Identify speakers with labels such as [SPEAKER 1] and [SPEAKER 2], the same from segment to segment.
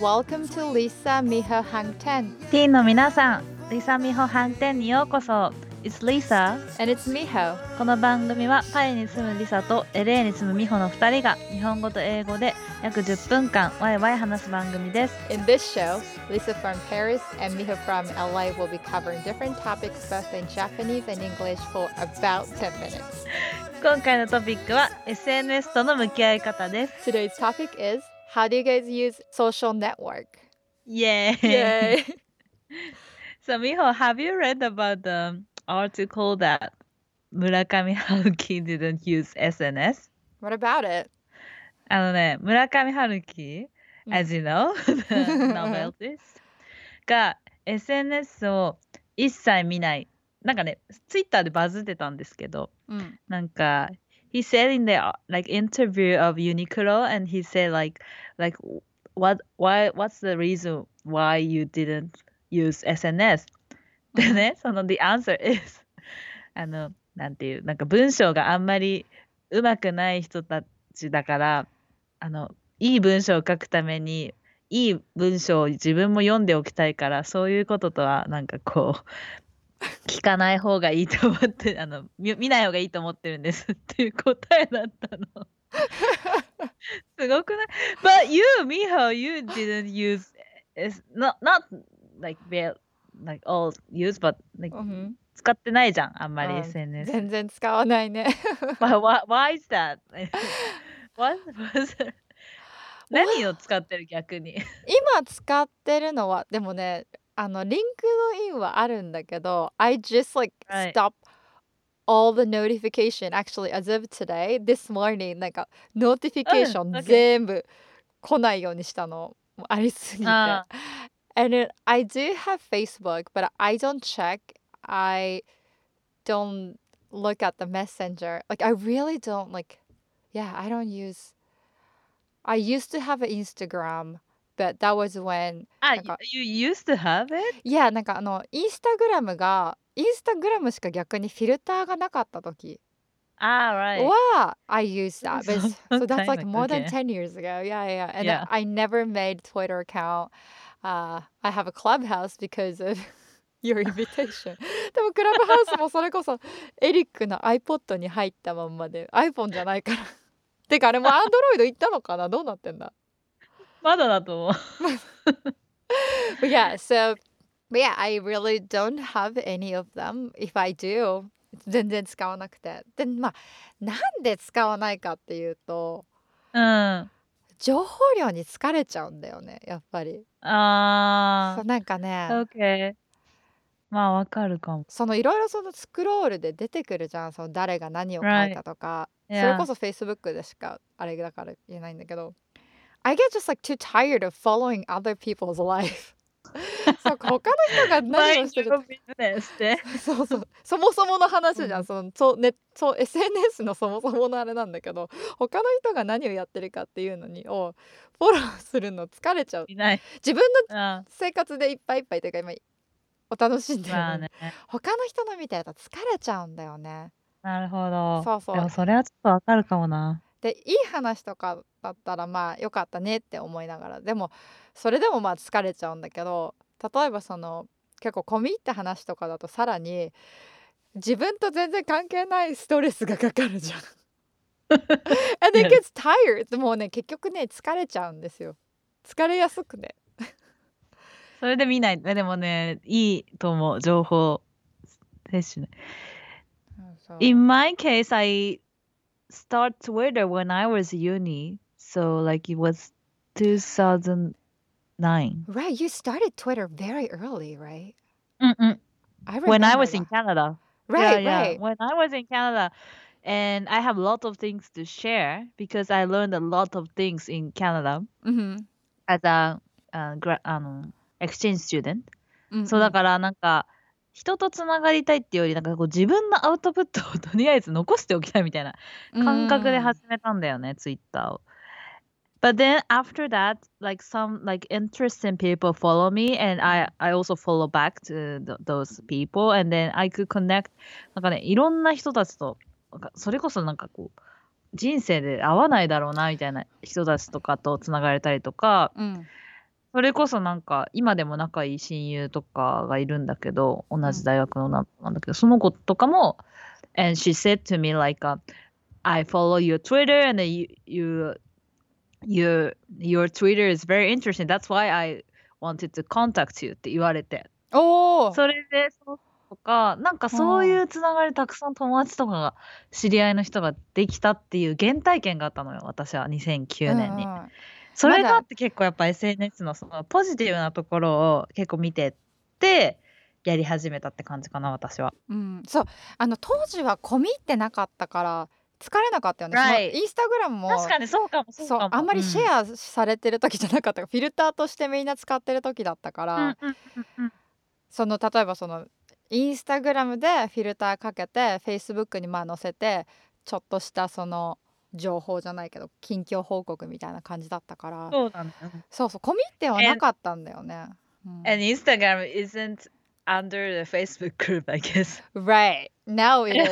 [SPEAKER 1] welcome to Lisa Miho Hangten.
[SPEAKER 2] ティーンの皆さん、リサミホ飯店にようこそ。It's Lisa.
[SPEAKER 1] And it's Miho.
[SPEAKER 2] この番組はパリに住むリサと LA に住むミホの2人が日本語と英語で約10分間ワイワイ話す番組です。
[SPEAKER 1] In this show, Lisa from Paris and Miho from LA will be covering different topics both in Japanese and English for about 10 minutes.
[SPEAKER 2] 今回のトピックは SNS との向き合い方です。
[SPEAKER 1] Today's topic is, how do you guys use social network?
[SPEAKER 2] イエーイ
[SPEAKER 1] Yay!
[SPEAKER 2] So Miho, have you read about the article that Murakami Haruki didn't use SNS?
[SPEAKER 1] What about it?
[SPEAKER 2] 村上春樹、as you know, the novelist が SNS を一切見ない。なんかね、ツイッターでバズってたんですけど、なんか、he said in the like interview of Uniqlo and he said like what's the reason why you didn't use SNS? でね、その the answer is なんていう、なんか文章があんまり上手くない人たちだから、いい文章を書くためにいい文章を自分も読んでおきたいから、そういうこととはなんかこう聞かない方がいいと思って見ない方がいいと思ってるんですっていう答えだったの。すごくない？ But you, Miho, you didn't use it's not like all use, but like、使ってないじゃん、あんまり SNS。
[SPEAKER 1] 全然使わないね。
[SPEAKER 2] why is that? What was it? 何を使ってる逆に？
[SPEAKER 1] 今使ってるのはでもね、リンクドインはあるんだけど、I just like stop all the notification actually as of today, this morning なんかノーティフィケーション全部来ないようにしたの。ありすぎて。And I do have Facebook, but I don't check. I don't look at the messenger. Like I really don't I don't use. I used to have an Instagram, but that was when.
[SPEAKER 2] You used to have it?
[SPEAKER 1] Yeah, なんかインスタグラムしか逆にフィルターがなかった時。
[SPEAKER 2] Right.
[SPEAKER 1] は I used that. So that's like more than 10 years ago. Yeah. And I never made Twitter account. I have a Clubhouse because of your invitation. でもクラブハウスもそれこそエリックの iPod に入ったまんまで iPhone じゃないから。てかあれも Android 行ったのかな？どうなってんだ？
[SPEAKER 2] まだだと思う。
[SPEAKER 1] But yeah, I really don't have any of them. If I do, 全然使わなくて。で、なんで使わないかっていうと、情報量に疲れちゃうんだよね、やっぱり。そうなんかね。
[SPEAKER 2] Okay. まあわかるかも。
[SPEAKER 1] いろいろスクロールで出てくるじゃん。誰が何を書いたとか。それこそ Facebook でしかあれだから言えないんだけど。I get just like too tired of following other people's life. そうか、他の人が何をしてるそもそもの話じゃん。SNS のそもそものあれなんだけど、他の人が何をやってるかっていうのをフォローするの疲れちゃう。自分の生活でいっぱいいっぱいというか今お楽しんでるのに、他の人の見てると疲れちゃうんだよね。
[SPEAKER 2] なるほど。
[SPEAKER 1] そう。
[SPEAKER 2] でもそれはちょっとわかるかもな。
[SPEAKER 1] でいい話とかだったらよかったねって思いながら、でもそれでも疲れちゃうんだけど、例えば結構込み入った話とかだとさらに自分と全然関係ないストレスがかかるじゃん。And it gets tired. もうね結局ね疲れちゃうんですよ。疲れやすくね。
[SPEAKER 2] それで見ない。でもねいいと思う、情報摂取ね。In my case, I start Twitter when I was uni, so like it was 2009.
[SPEAKER 1] Right, you started Twitter very early, right?
[SPEAKER 2] When I was in Canada.
[SPEAKER 1] Right.
[SPEAKER 2] When I was in Canada, and I have a lot of things to share because I learned a lot of things in Canada as a exchange student. そうだからなんか人とつながりたいっていうよりなんかこう自分のアウトプットをとりあえず残しておきたいみたいな感覚で始めたんだよね、ツイッターを。But then after that, like some like interesting people follow me, and I also follow back to those people, and then I could connect. なんかね、いろんな人たちと、それこそなんかこう人生で会わないだろうなみたいな人たちとかとつながれたりとか、 それこそなんか、今でも仲いい親友とかがいるんだけど、同じ大学のなんだけど、その子とかも、and she said to me like, I follow your Twitter and your Twitter is very interesting. That's why I wanted to contact you って言われて。
[SPEAKER 1] おお。
[SPEAKER 2] それで、そうとか、なんかそういうつながりたくさん友達とかが、知り合いの人ができたっていう原体験があったのよ、私は2009年に。それがあって結構やっぱ SNS のそのポジティブなところを結構見てってやり始めたって感じかな、私は。
[SPEAKER 1] うん、そう当時は込み入ってなかったから疲れなかったよね。その
[SPEAKER 2] Right.
[SPEAKER 1] インスタグラムも
[SPEAKER 2] 確かにそうかもそうかも。
[SPEAKER 1] あんまりシェアされてる時じゃなかったから、フィルターとしてみんな使ってる時だったから、その例えばそのインスタグラムでフィルターかけて Facebook に載せてちょっとしたその情報じゃないけど近況報告みたいな感じだったから、
[SPEAKER 2] そうなんだ。
[SPEAKER 1] そう込み入ってはなかったんだよね。
[SPEAKER 2] And Instagram isn't under the Facebook group, I guess.
[SPEAKER 1] Right. Now it is.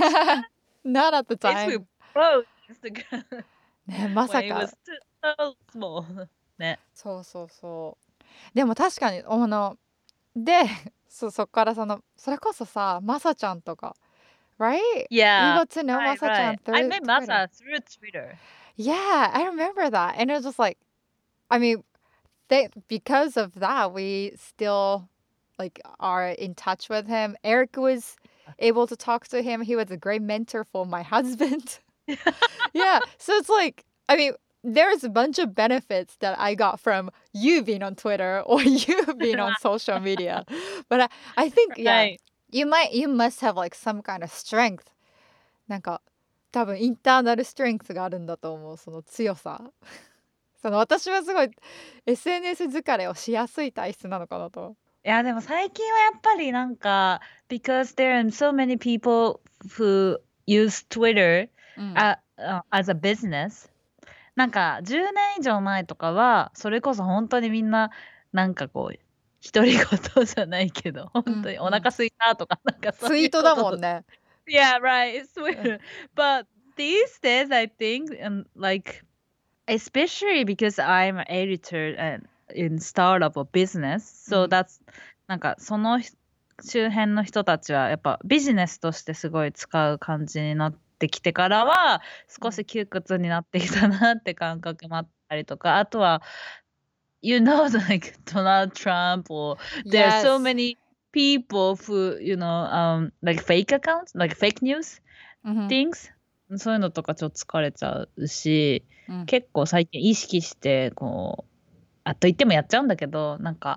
[SPEAKER 1] Not at the time.
[SPEAKER 2] Facebook broke Instagram
[SPEAKER 1] ね、まさ
[SPEAKER 2] when it
[SPEAKER 1] か。
[SPEAKER 2] was so small. ね。
[SPEAKER 1] そうそうそう。でも確かにでそっからそれこそさマサちゃんとか right?
[SPEAKER 2] Yeah.
[SPEAKER 1] You got to know
[SPEAKER 2] Right,
[SPEAKER 1] Masa chan
[SPEAKER 2] right.
[SPEAKER 1] through
[SPEAKER 2] I met
[SPEAKER 1] Twitter.
[SPEAKER 2] Masa through Twitter.
[SPEAKER 1] Yeah, I remember that. And it was just like, I mean, because of that, we still like are in touch with him. Eric was able to talk to him. He was a great mentor for my husband. Yeah, so it's like, I mean, there's a bunch of benefits that I got from you being on Twitter or you being on social media. But I think, yeah,
[SPEAKER 2] Right.
[SPEAKER 1] you must have like some kind of strength. なんか多分インターナルストレングスがあるんだと思う、その強さ。私はすごい SNS 疲れをしやすい体質なのかなと。
[SPEAKER 2] いや、でも最近はやっぱりなんか、because there are so many people who use Twitter、as a business。なんか10年以上前とかは、それこそ本当にみんな、なんかこう、独り言じゃないけど、本当にお腹空いたとか、なんかそういう
[SPEAKER 1] ツイートだもんね。
[SPEAKER 2] Yeah, right. It's weird. But these days, I think, like, especially because I'm an editor and in startup or business, so that's なんかその周辺の人たちはやっぱビジネスとしてすごい使う感じになってきてからは少し窮屈になってきたなって感覚もあったりとか、あとは you know like Donald Trump or there are so many people who like fake accounts like fake news things、そういうのとかちょっと疲れちゃうし、結構最近意識してこうと言ってもやっちゃうんだけど、なんか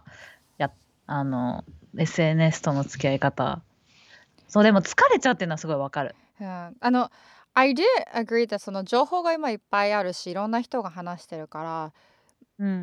[SPEAKER 2] SNS との付き合い方、そうでも疲れちゃうっていうのはすごいわかる。
[SPEAKER 1] I do agree that その情報が今いっぱいあるし、いろんな人が話してるから、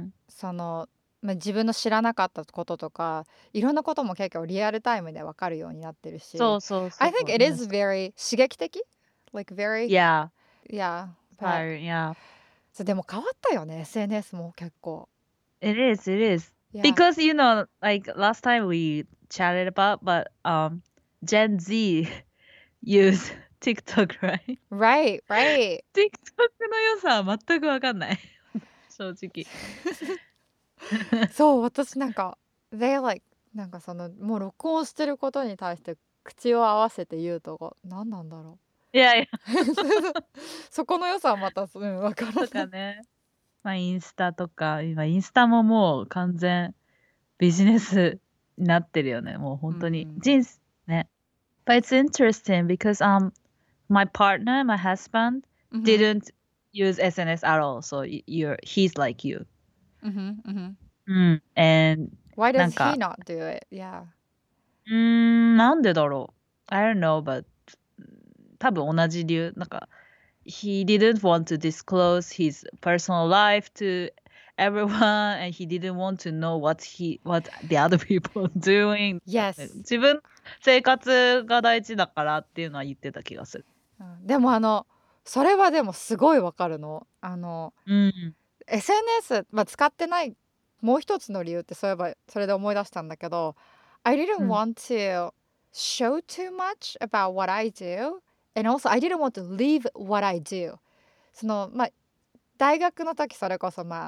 [SPEAKER 1] 自分の知らなかったこととかいろんなことも結構リアルタイムで分かるようになってるし、
[SPEAKER 2] そうそうそう。
[SPEAKER 1] I think it is very 刺激的 like very
[SPEAKER 2] Yeah.
[SPEAKER 1] yeah
[SPEAKER 2] Yeah.
[SPEAKER 1] でも変わったよね SNS も結構。
[SPEAKER 2] It is
[SPEAKER 1] Yeah.
[SPEAKER 2] because like last time we chatted about but Gen Z use TikTok, right?
[SPEAKER 1] Right.
[SPEAKER 2] TikTok の良さは全く分かんない正直。
[SPEAKER 1] そう私なんか they like なんかもう録音してることに対して口を合わせて言うとか何なんだろ
[SPEAKER 2] う。いや
[SPEAKER 1] そこの良さはまた分からない。
[SPEAKER 2] とかね。インスタとか今インスタももう完全ビジネスになってるよね。もう本当に人生ね。But it's interesting because my partner, my husband didn't use SNS at all. So he's like you. And
[SPEAKER 1] Why does he not do it? Yeah.
[SPEAKER 2] なんでだろう I don't know, but 多分同じ理由。なんかhe didn't want to disclose his personal life to everyone and he didn't want to know what the other people are doing.
[SPEAKER 1] Yes.
[SPEAKER 2] 自分生活が大事だからっていうのは言ってた気がする。
[SPEAKER 1] でもそれはでもすごいわかるの。SNS、使ってないもう一つの理由ってそういえばそれで思い出したんだけど、I didn't want to show too much about what I do and also I didn't want to leave what I do。大学の時それこそ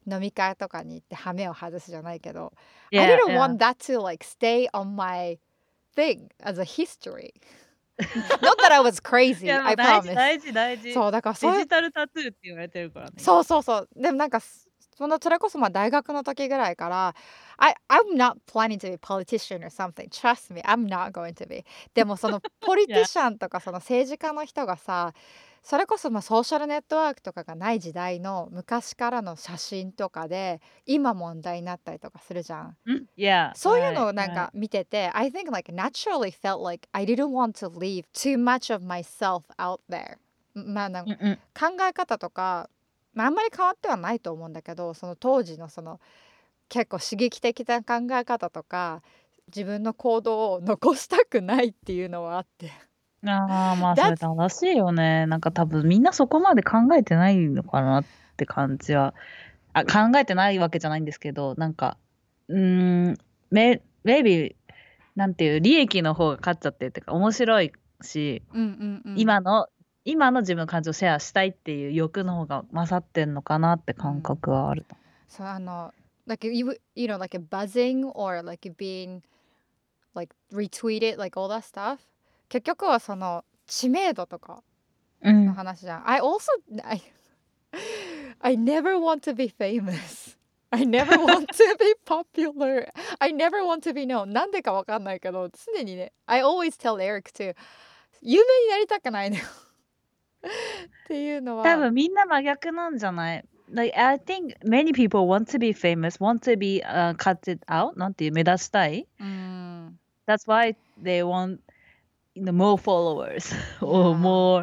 [SPEAKER 1] 飲み会とかに行って羽目を外すじゃないけど、I
[SPEAKER 2] Yeah,
[SPEAKER 1] didn't
[SPEAKER 2] yeah.
[SPEAKER 1] want that to like stay on my thing as a history. Not that I was
[SPEAKER 2] い
[SPEAKER 1] crazy,
[SPEAKER 2] や、も
[SPEAKER 1] I
[SPEAKER 2] う大事
[SPEAKER 1] promise.
[SPEAKER 2] 大事大事。
[SPEAKER 1] そうだからそういう
[SPEAKER 2] デジタルタトゥーって言われてるからね、今。
[SPEAKER 1] そうそうそう。でもなんかそれこそまあ大学の時ぐらいから、I'm not planning to be a politician or something. Trust me, I'm not going to be. でもそのポリティ
[SPEAKER 2] Yeah.
[SPEAKER 1] シャンとかその政治家の人がさ、それこそまあソーシャルネットワークとかがない時代の昔からの写真とかで今問題になったりとかするじゃん。
[SPEAKER 2] Yeah,
[SPEAKER 1] そういうの
[SPEAKER 2] right,
[SPEAKER 1] をなん
[SPEAKER 2] right.
[SPEAKER 1] か見てて、I think like naturally felt like I didn't want to leave too much of myself out there. まあなんか
[SPEAKER 2] うんうん。
[SPEAKER 1] 考え方とか、まあ、あんまり変わってはないと思うんだけど、その当時のその結構刺激的な考え方とか自分の行動を残したくないっていうのはあって。
[SPEAKER 2] ああ、まあ、それ
[SPEAKER 1] That's
[SPEAKER 2] 正しいよね。なんか多分みんなそこまで考えてないのかなって感じは。考えてないわけじゃないんですけど、なんか、maybe、なんていう利益の方が勝っちゃってるっていうか、面白いし、今の自分の感情をシェアしたいっていう欲の方が勝ってんのかなって感覚はある。
[SPEAKER 1] そうlike you know like a buzzing or like being like retweeted like all that stuff 結局はその知名度とかの話じゃん。I never want to be famous. I never want to be popular. I never want to be known. なんでかわかんないけど常にね I always tell Eric too 有名になりたくないのよっていうのは
[SPEAKER 2] 多分みんな真逆なんじゃない？ Like, I think many people want to be famous, want to be cut it out なんていう目立ちたい。That's why they want more followers or more,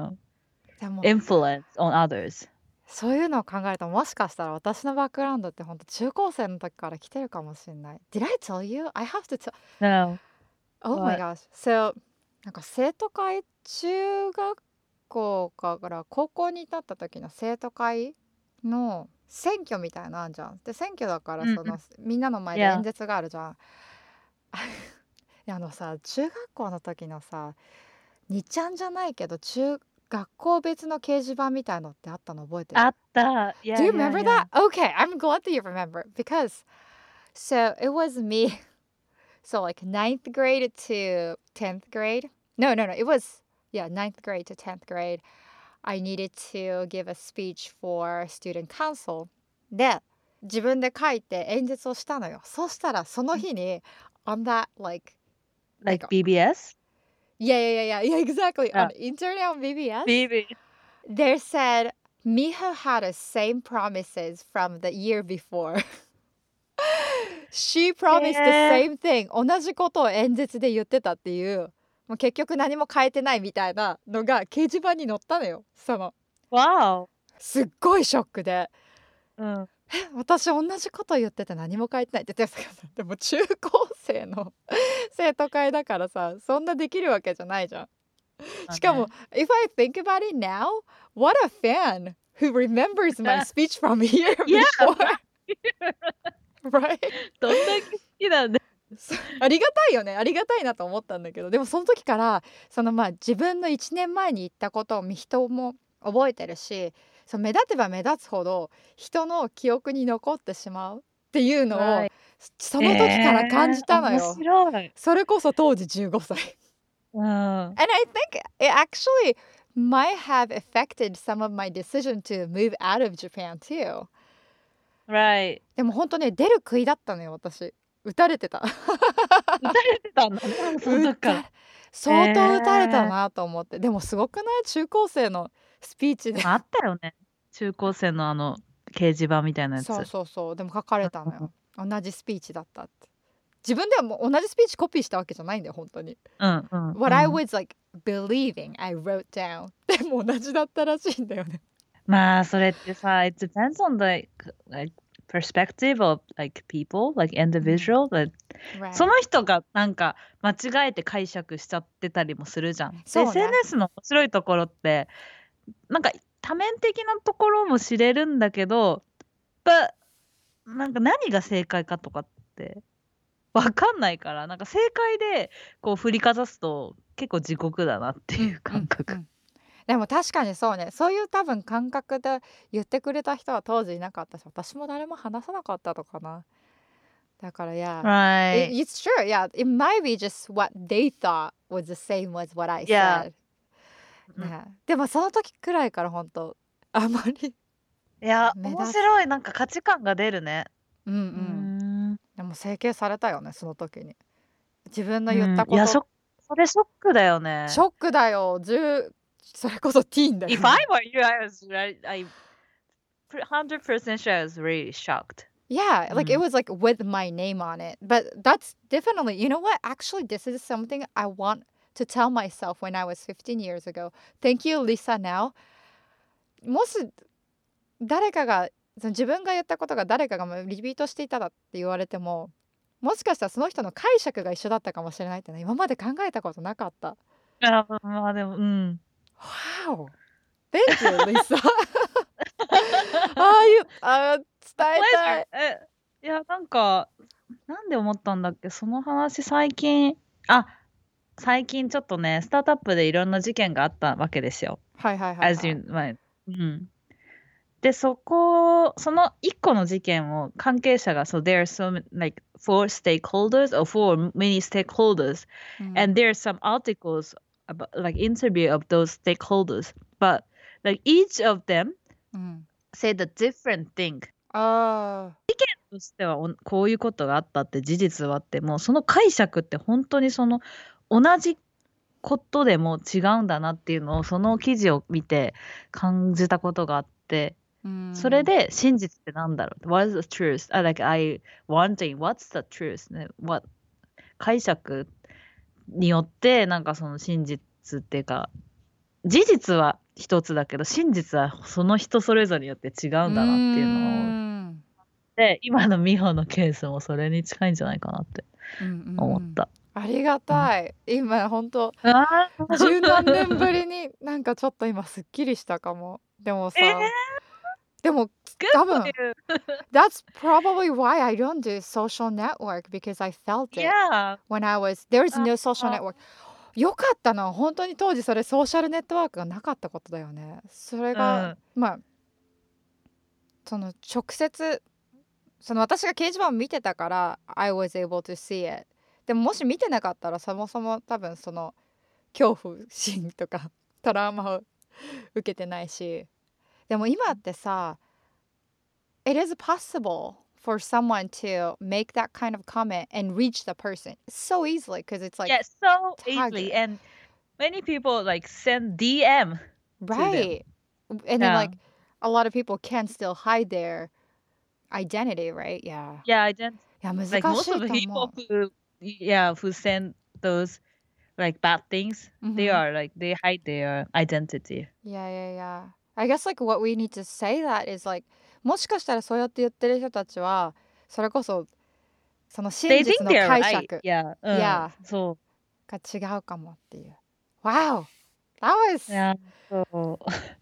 [SPEAKER 2] influence on others.
[SPEAKER 1] そういうのを考えるともしかしたら私のバックグラウンドって本当中高生の時から来てるかもしれない。Did I tell you? I have to tell.
[SPEAKER 2] No.
[SPEAKER 1] Oh my gosh. So なんか生徒会中学校から高校に至った時の生徒会の選挙みたいなのあるじゃん。で選挙だからその、みんなの前で演説があるじゃん。さ中学校の時のさ2ちゃんじゃないけど学校別の掲示板みたいのってあったの覚えてる？
[SPEAKER 2] あった。
[SPEAKER 1] Do you remember that? Okay, I'm glad that you remember because so it was me. So like 9th grade to 10th grade. No, it was yeah, 9th grade to 10th grade. I needed to give a speech for student council. で、自分で書いて演説をしたのよ。そうしたらその日に on that like
[SPEAKER 2] BBS?
[SPEAKER 1] Yeah, exactly. On internet on BBS. They said Miho had the same promises from the year before. She promised the same thing. 同じことを演説で言ってたっていう、もう結局何も変えてないみたいなのが掲示板に載ったのよ。
[SPEAKER 2] Wow.
[SPEAKER 1] すっごいショックで。私同じこと言ってて何も書いてないって言ってたけど、でも中高生の生徒会だからさ、そんなできるわけじゃないじゃん。しかも、if I think about it now, what a fan who remembers my speech from a year before. Right?
[SPEAKER 2] どんだけ好きなんだ。
[SPEAKER 1] ありがたいよね。ありがたいなと思ったんだけど、でもその時から自分の1年前に言ったことを人も覚えてるし、目立てば目立つほど人の記憶に残ってしまうっていうのをその時から感じたのよ。
[SPEAKER 2] 面白い。
[SPEAKER 1] それこそ当時15歳。And I think it actually might have affected some of my decision to move out of Japan too.
[SPEAKER 2] Right.
[SPEAKER 1] でも本当ね、出る杭だったのよ、私。撃たれてた。
[SPEAKER 2] 撃たれてたんだね、その時から。
[SPEAKER 1] 相当撃たれたなと思って。でもすごくない？中高生のスピーチで。
[SPEAKER 2] あったよね。中高生の掲示板みたいなやつ。
[SPEAKER 1] そう。でも書かれたのよ。同じスピーチだったって。自分ではもう同じスピーチコピーしたわけじゃないんだよ、本当に。What I was like believing, I wrote down. でも同じだったらしいんだよね。
[SPEAKER 2] まあそれってさ、it depends on the perspective of like people, like individual. Right. その人がなんか間違えて解釈しちゃってたりもするじゃん。ね、SNS の面白いところってなんか多面的なところも知れるんだけど、なんか何が正解かとかって分かんないから、なんか正解でこう振りかざすと結構地獄だなっていう感覚。
[SPEAKER 1] でも確かにそうね。そういう多分感覚で言ってくれた人は当時いなかったし、私も誰も話さなかったのかな。だから、yeah.
[SPEAKER 2] Right.
[SPEAKER 1] It's true. Yeah. It might be just what they thought was the same as what I
[SPEAKER 2] Yeah.
[SPEAKER 1] said. ね。でもその時くらいから本当あまり
[SPEAKER 2] いや、
[SPEAKER 1] 目立つ。
[SPEAKER 2] 面白い。なんか価値観が出るね。
[SPEAKER 1] うんう。
[SPEAKER 2] うん
[SPEAKER 1] でも整形されたよね、その時に。自分の
[SPEAKER 2] ーん。いや、
[SPEAKER 1] 言ったこと、
[SPEAKER 2] それショックだよ
[SPEAKER 1] シ
[SPEAKER 2] ね。
[SPEAKER 1] ョックだよ。それこそティーンだよ
[SPEAKER 2] If I
[SPEAKER 1] ね。
[SPEAKER 2] were you, I 100% sure I was really shocked.
[SPEAKER 1] Yeah, like it
[SPEAKER 2] うん。
[SPEAKER 1] was like with my name on it. But that's definitely, you know what? Actually, this is something I want to tell myself when I was 15 years ago. Thank you, Lisa, now. もし誰かが、その自分が言ったことが誰かがリピートしていたらって言われても、もしかしたらその人の解釈が一緒だったかもしれないってね、今まで考えたことなかった。
[SPEAKER 2] あ、まあでも、うん。
[SPEAKER 1] Wow! Thank you, Lisa. ああいう、伝えたい。
[SPEAKER 2] いや、なんか、なんで思ったんだっけ、その話最近ちょっとね、スタートアップでいろんな事件があったわけですよ。
[SPEAKER 1] はいはいはい、
[SPEAKER 2] as you, うん。で、その一個の事件を関係者が、so there are some like four stakeholders or four many stakeholders, and there are some articles about like interview of those stakeholders, but like each of them said a different thing. としてはこういうことがあったって事実はあっても、その解釈って本当にその同じことでも違うんだなっていうのをその記事を見て感じたことがあって、それで真実ってなんだろう、 What is the truth? Like I wondering what's the truth? ね、解釈によってなんかその真実っていうか、事実は一つだけど真実はその人それぞれによって違うんだなっていうのを、で今の美穂のケースもそれに近いんじゃないかなって思った。
[SPEAKER 1] ありがたい。今本当十何年ぶりになんかちょっと今すっきりしたかも。でもさ、でも多分That's probably why I don't do social network because I felt it when I was there's no social network. よかったな、本当に当時それソーシャルネットワークがなかったことだよね。それが、まあその直接その私が掲示板を見てたから I was able to see it。 でももし見てなかったらそもそも多分その恐怖心とかトラウマを受けてないし、でも今ってさ It is possible for someone to make that kind of comment and reach the person so easily because it's like
[SPEAKER 2] so easily and many people like send DM
[SPEAKER 1] right to them. And then like a lot of people can still hide their identity, right? Yeah.
[SPEAKER 2] Identity.
[SPEAKER 1] いや難しい
[SPEAKER 2] Like most
[SPEAKER 1] と
[SPEAKER 2] of the
[SPEAKER 1] 思
[SPEAKER 2] people
[SPEAKER 1] う。
[SPEAKER 2] who send those like bad things, they are like they hide their identity.
[SPEAKER 1] Yeah. I guess like what we need to say that is like もしかしたらそうやって言ってる人たちはそれこそその真
[SPEAKER 2] They
[SPEAKER 1] 実
[SPEAKER 2] think
[SPEAKER 1] の
[SPEAKER 2] they're
[SPEAKER 1] 解
[SPEAKER 2] right.
[SPEAKER 1] 釈
[SPEAKER 2] Yeah. そう。
[SPEAKER 1] が違うかもっていう。Wow! That was
[SPEAKER 2] そう。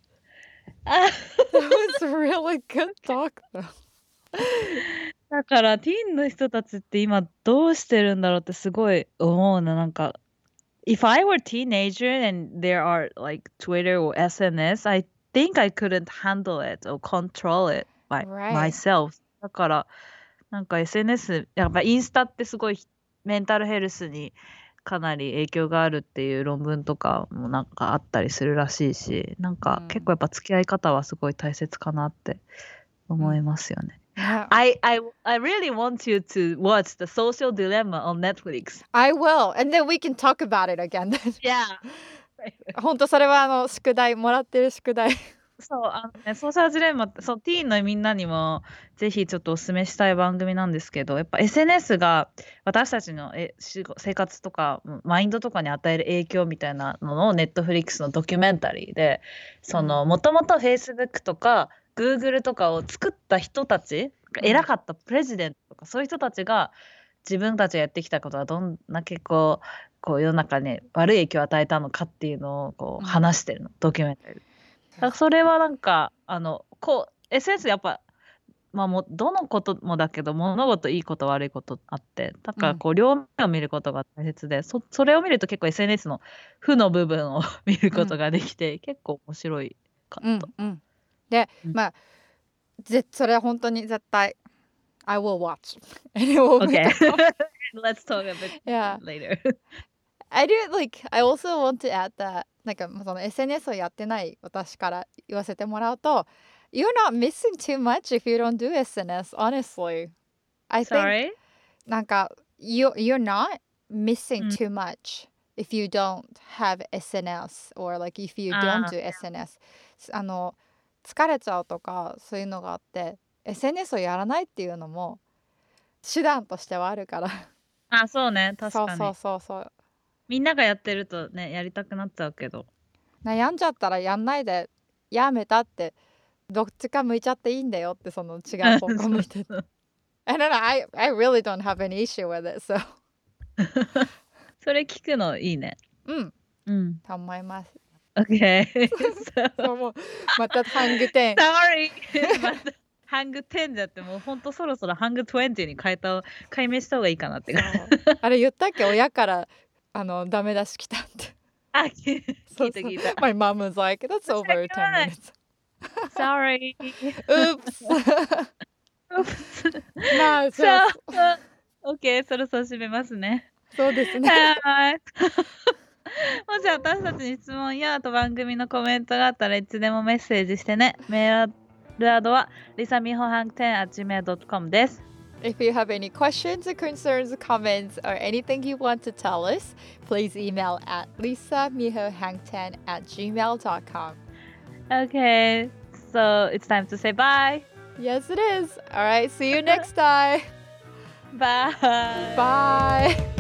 [SPEAKER 1] that was really good talk though.
[SPEAKER 2] だからティーンの人たちって今どうしてるんだろうってすごい思うな。なんか If I were a teenager and there are like Twitter or SNS, I think I couldn't handle it or control it by myself. だからなんか SNS やっぱインスタってすごいメンタルヘルスにかなり影響があるっていう論文とかもなんかあったりするらしいし、なんか結構やっぱ付き合い方はすごい大切かなって思いますよね。I really want you to watch The Social Dilemma on Netflix.
[SPEAKER 1] I will, and then we can talk about it again.
[SPEAKER 2] Yeah.
[SPEAKER 1] 本当それは宿題もらってる宿題。
[SPEAKER 2] そうソーシャルジレンマってティーンのみんなにもぜひちょっとお勧めしたい番組なんですけど、やっぱ SNS が私たちの生活とかマインドとかに与える影響みたいなのをネットフリックスのドキュメンタリーで、もともと Facebook とか Google とかを作った人たち、偉かったプレジデントとかそういう人たちが自分たちがやってきたことはどんだけこう世の中に悪い影響を与えたのかっていうのをこう話してるの、ドキュメンタリー。それはなんかSNS やっぱまあもうどのこともだけど、物事いいこと悪いことあって、だからこう両面を見ることが大切で、それを見ると結構 SNS の負の部分を見ることができて、結構面白いかった。
[SPEAKER 1] で、まあそれは本当に絶対 I will watch. And it will
[SPEAKER 2] Okay.
[SPEAKER 1] make a comment.
[SPEAKER 2] Let's talk a bit
[SPEAKER 1] Yeah.
[SPEAKER 2] later.
[SPEAKER 1] I do like I also want to add that なんかその SNS をやってない私から言わせてもらうと You're not missing too much if you don't do SNS, honestly. I think
[SPEAKER 2] Sorry?
[SPEAKER 1] なんか you're not missing too much if you don't have SNS or like if you don't do SNS. 疲れちゃうとかそういうのがあって SNS をやらないっていうのも手段としてはあるから
[SPEAKER 2] あ、そうね、確かに。
[SPEAKER 1] そう
[SPEAKER 2] みんながやってるとね、やりたくなっちゃうけど。
[SPEAKER 1] 悩んじゃったらやんないでやめたってどっちか向いちゃっていいんだよってその違う方向向いててI don't know, I really don't have any issue with it, so
[SPEAKER 2] それ聞くのいいね。
[SPEAKER 1] と思います。
[SPEAKER 2] Okay.
[SPEAKER 1] そうもうまたハング10
[SPEAKER 2] Sorry. またハング10じゃってもうほんとそろそろハング20に解明した方がいいかなって
[SPEAKER 1] あれ言ったっけ親からダメ出し来たって
[SPEAKER 2] あ、聞いた聞いた。
[SPEAKER 1] My mom was like, that's over 10 minutes.
[SPEAKER 2] Sorry.
[SPEAKER 1] Oops. まあ
[SPEAKER 2] そう。OK、そろそろ締めますね。
[SPEAKER 1] そうですね。
[SPEAKER 2] はい。もし私たちに質問やあと番組のコメントがあったらいつでもメッセージしてね。メールアドは risamihohang10@gmail.com です。
[SPEAKER 1] If you have any questions or concerns, comments, or anything you want to tell us, please email at lisamihohang10@gmail.com.
[SPEAKER 2] Okay, so it's time to say bye.
[SPEAKER 1] Yes, it is. All right, see you next time.
[SPEAKER 2] Bye.
[SPEAKER 1] Bye.